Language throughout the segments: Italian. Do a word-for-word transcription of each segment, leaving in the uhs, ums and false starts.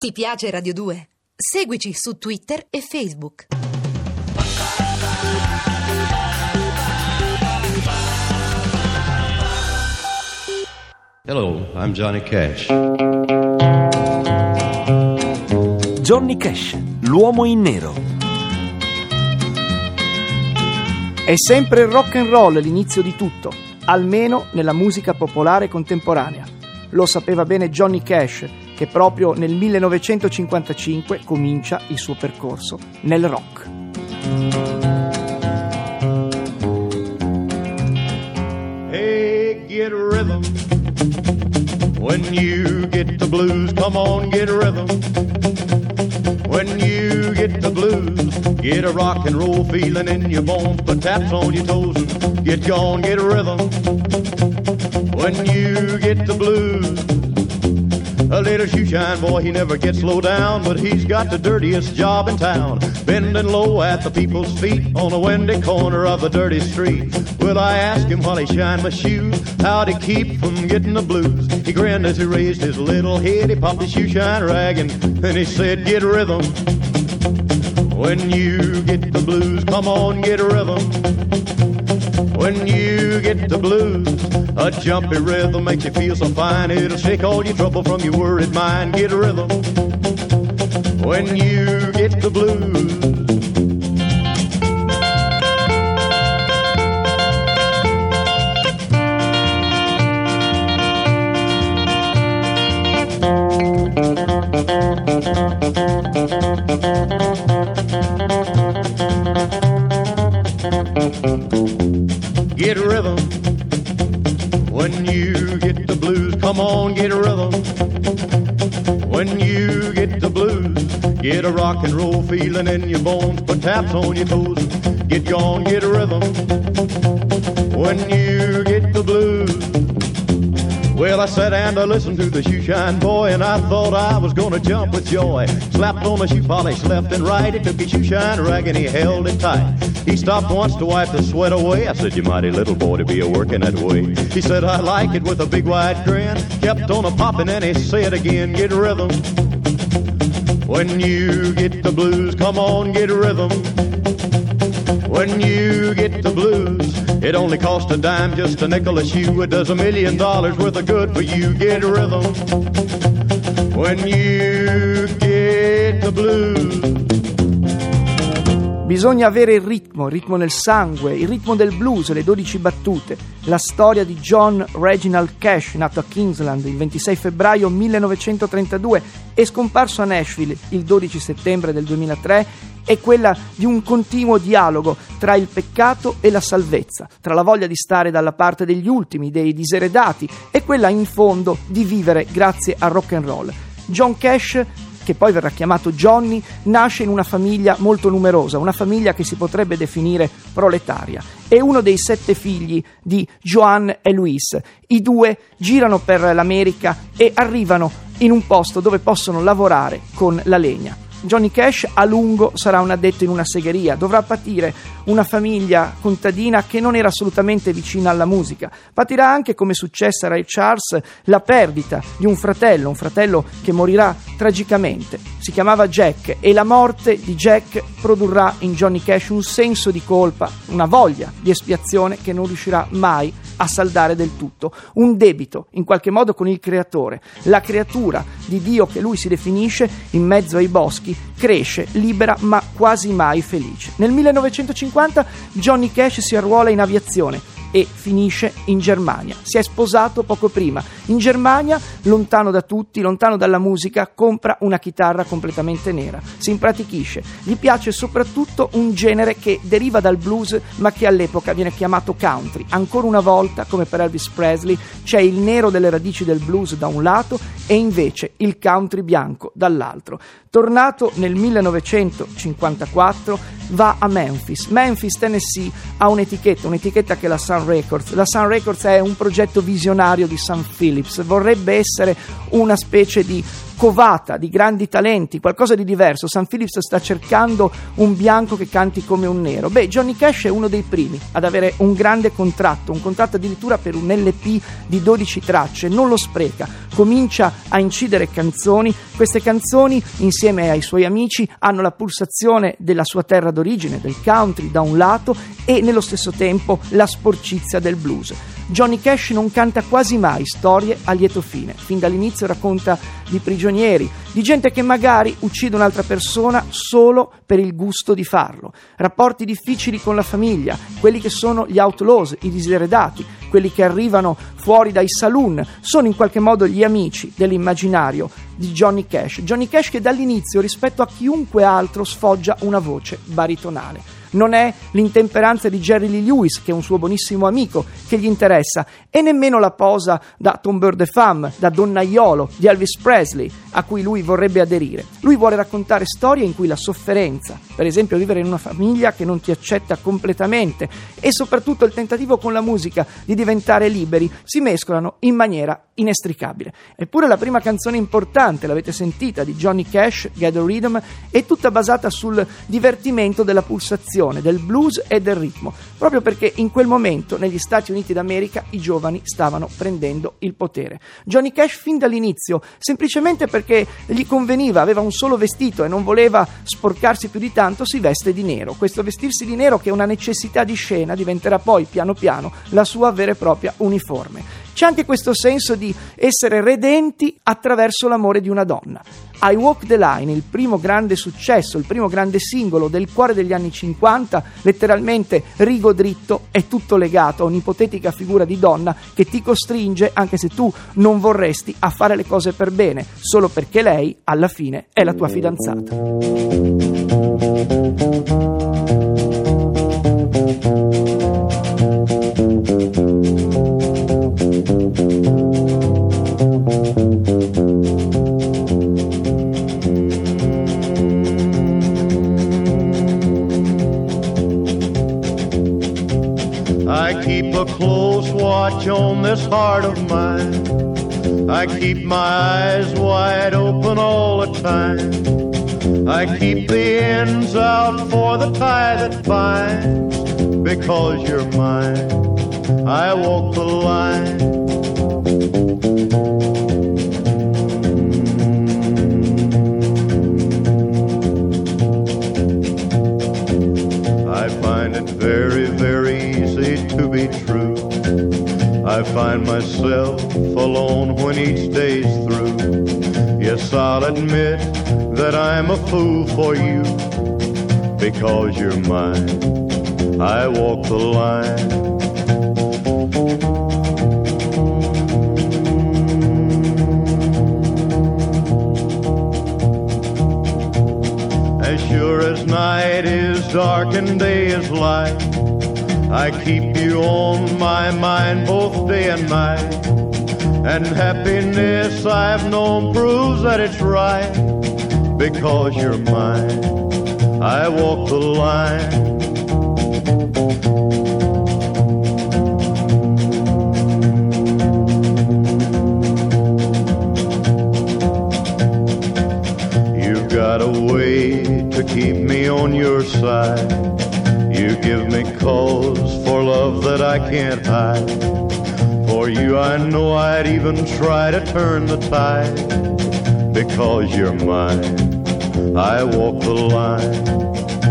Ti piace Radio due? Seguici su Twitter e Facebook. Hello, I'm Johnny Cash. Johnny Cash, l'uomo in nero. È sempre il rock and roll l'inizio di tutto, almeno nella musica popolare contemporanea. Lo sapeva bene Johnny Cash, che proprio nel millenovecentocinquantacinque comincia il suo percorso nel rock. Hey, get a rhythm. When you get the blues, come on, get a rhythm. When you get the blues, get a rock and roll feeling in your bones, put taps on your toes and get gone, get a rhythm. When you get the blues, a little shoeshine boy, he never gets low down, but he's got the dirtiest job in town, bending low at the people's feet on a windy corner of the dirty street. Well, I asked him while he shined my shoes, how'd he keep from getting the blues? He grinned as he raised his little head, he popped his shoeshine rag and then he said, get a rhythm. When you get the blues, come on, get a rhythm. When you get the blues, a jumpy rhythm makes you feel so fine. It'll shake all your trouble from your worried mind. Get a rhythm. When you get the blues. Get a rhythm. When you get the blues, come on, get a rhythm. When you get the blues, get a rock and roll feeling in your bones, put taps on your toes, get gone, get a rhythm. When you get the blues. Well, I sat and I listened to the shoeshine boy, and I thought I was gonna jump with joy. Slapped on the shoe polish left and right, he took his shoeshine rag and he held it tight. He stopped once to wipe the sweat away. I said, you mighty little boy to be a-working that way. He said, I like it, with a big wide grin. Kept on a-popping and he said again, get a rhythm. When you get the blues, come on, get a rhythm. When you get the blues, it only costs a dime, just a nickel a shoe. It does a million dollars worth of good for you. Get a rhythm. When you get the blues. Bisogna avere il ritmo, il ritmo nel sangue, il ritmo del blues, le dodici battute. La storia di John Reginald Cash, nato a Kingsland il ventisei febbraio millenovecentotrentadue e scomparso a Nashville il dodici settembre del duemilatré, è quella di un continuo dialogo tra il peccato e la salvezza, tra la voglia di stare dalla parte degli ultimi, dei diseredati, e quella in fondo di vivere grazie al rock and roll. John Cash, che poi verrà chiamato Johnny, nasce in una famiglia molto numerosa, una famiglia che si potrebbe definire proletaria. È uno dei sette figli di Joan e Louis. I due girano per l'America e arrivano in un posto dove possono lavorare con la legna. Johnny Cash a lungo sarà un addetto in una segheria, dovrà patire una famiglia contadina che non era assolutamente vicina alla musica. Patirà anche, come successe a Ray Charles, la perdita di un fratello, un fratello che morirà tragicamente. Si chiamava Jack e la morte di Jack produrrà in Johnny Cash un senso di colpa, una voglia di espiazione che non riuscirà mai a saldare del tutto, un debito in qualche modo con il creatore. La creatura di Dio che lui si definisce in mezzo ai boschi cresce libera ma quasi mai felice. Nel millenovecentocinquanta Johnny Cash si arruola in aviazione e finisce in Germania. Si è sposato poco prima. In Germania, lontano da tutti, lontano dalla musica, compra una chitarra completamente nera. Si impratichisce. Gli piace soprattutto un genere che deriva dal blues, ma che all'epoca viene chiamato country. Ancora una volta, come per Elvis Presley, c'è il nero delle radici del blues da un lato e invece il country bianco dall'altro. Tornato nel millenovecentocinquantaquattro, va a Memphis. Memphis, Tennessee, ha un'etichetta, un'etichetta che è la Sun Records. La Sun Records è un progetto visionario di Sam Phillips, vorrebbe essere una specie di covata di grandi talenti, qualcosa di diverso. Sam Phillips sta cercando un bianco che canti come un nero. Beh, Johnny Cash è uno dei primi ad avere un grande contratto, un contratto addirittura per un L P di dodici tracce, non lo spreca, comincia a incidere canzoni. Queste canzoni, insieme ai suoi amici, hanno la pulsazione della sua terra d'origine, del country da un lato, e nello stesso tempo la sporcizia del blues. Johnny Cash non canta quasi mai storie a lieto fine. Fin dall'inizio racconta di prigionieri, di gente che magari uccide un'altra persona solo per il gusto di farlo, rapporti difficili con la famiglia, quelli che sono gli outlaws, i diseredati, quelli che arrivano fuori dai saloon, sono in qualche modo gli amici dell'immaginario di Johnny Cash. Johnny Cash che dall'inizio, rispetto a chiunque altro, sfoggia una voce baritonale. Non è l'intemperanza di Jerry Lee Lewis, che è un suo buonissimo amico, che gli interessa, e nemmeno la posa da tombeur de femme, da donnaiolo di Elvis Presley, a cui lui vorrebbe aderire. Lui vuole raccontare storie in cui la sofferenza, per esempio vivere in una famiglia che non ti accetta completamente, e soprattutto il tentativo con la musica di diventare liberi, si mescolano in maniera inestricabile. Eppure la prima canzone importante, l'avete sentita, di Johnny Cash, Get the Rhythm, è tutta basata sul divertimento della pulsazione, del blues e del ritmo, proprio perché in quel momento negli Stati Uniti d'America i giovani stavano prendendo il potere. Johnny Cash fin dall'inizio, semplicemente perché gli conveniva, aveva un solo vestito e non voleva sporcarsi più di tanto, si veste di nero. Questo vestirsi di nero, che è una necessità di scena, diventerà poi piano piano la sua vera e propria uniforme. C'è anche questo senso di essere redenti attraverso l'amore di una donna. I Walk the Line, il primo grande successo, il primo grande singolo del cuore degli anni cinquanta, letteralmente rigo dritto, è tutto legato a un'ipotetica figura di donna che ti costringe, anche se tu non vorresti, a fare le cose per bene, solo perché lei, alla fine, è la tua fidanzata. I keep a close watch on this heart of mine. I keep my eyes wide open all the time. I keep the ends out for the tie that binds. Because you're mine, I walk the line. I find it very, very easy to be true. I find myself alone when each day's through. Yes, I'll admit that I'm a fool for you. Because you're mine, I walk the line. As sure as night is dark and day is light, I keep you on my mind both day and night. And happiness I've known proves that it's right. Because you're mine, I walk the line. You've got a way to keep me on your side. You give me cause for love that I can't hide. For you I know I'd even try to turn the tide. Because you're mine, I walk the line.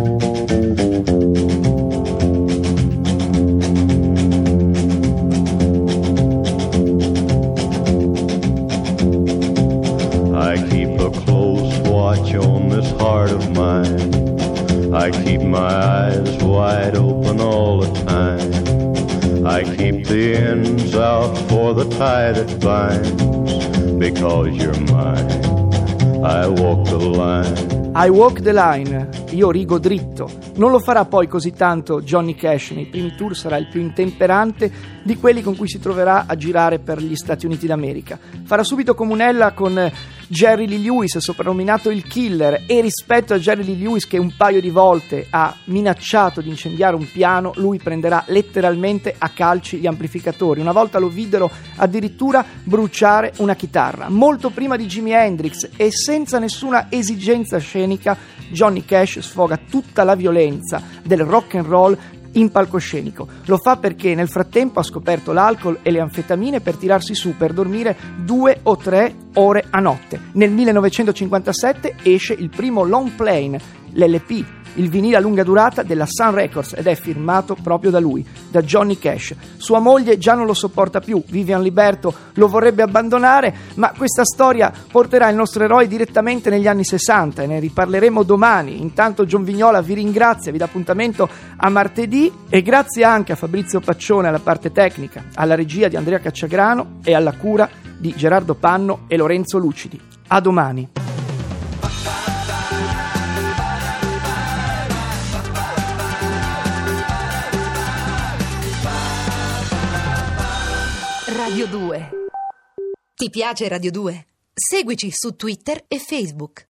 I keep a close watch on this heart of mine. I keep my eyes wide open all the time. I keep the ends out for the tie that binds. Because you're mine, I walk the line. I walk the line, io rigo dritto. Non lo farà poi così tanto Johnny Cash. Nei primi tour sarà il più intemperante di quelli con cui si troverà a girare per gli Stati Uniti d'America. Farà subito comunella con Jerry Lee Lewis, soprannominato il Killer, e rispetto a Jerry Lee Lewis che un paio di volte ha minacciato di incendiare un piano, lui prenderà letteralmente a calci gli amplificatori. Una volta lo videro addirittura bruciare una chitarra. Molto prima di Jimi Hendrix e senza nessuna esigenza scenica, Johnny Cash sfoga tutta la violenza del rock and roll in palcoscenico. Lo fa perché nel frattempo ha scoperto l'alcol e le anfetamine per tirarsi su per dormire due o tre ore a notte. Nel millenovecentocinquantasette esce il primo long plane, l'L P, il vinile a lunga durata della Sun Records, ed è firmato proprio da lui, da Johnny Cash. Sua moglie già non lo sopporta più, Vivian Liberto lo vorrebbe abbandonare, ma questa storia porterà il nostro eroe direttamente negli anni sessanta e ne riparleremo domani. Intanto John Vignola vi ringrazia, vi dà appuntamento a martedì, e grazie anche a Fabrizio Paccione alla parte tecnica, alla regia di Andrea Cacciagrano e alla cura di Gerardo Panno e Lorenzo Lucidi. A domani. Radio due. Ti piace Radio due? Seguici su Twitter e Facebook.